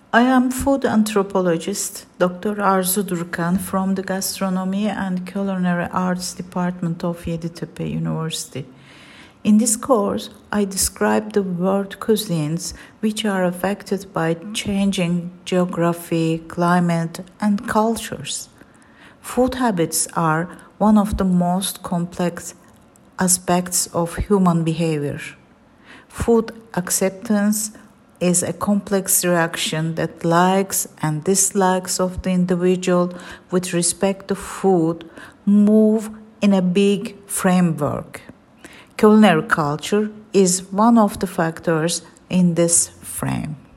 I am food anthropologist Dr. Arzu Durkan from the Gastronomy and Culinary Arts Department of Yeditepe University. In this course, I describe the world cuisines which are affected by changing geography, climate, and cultures. Food habits are one of the most complex aspects of human behavior. Food acceptance is a complex reaction that likes and dislikes of the individual with respect to food move in a big framework. Culinary culture is one of the factors in this frame.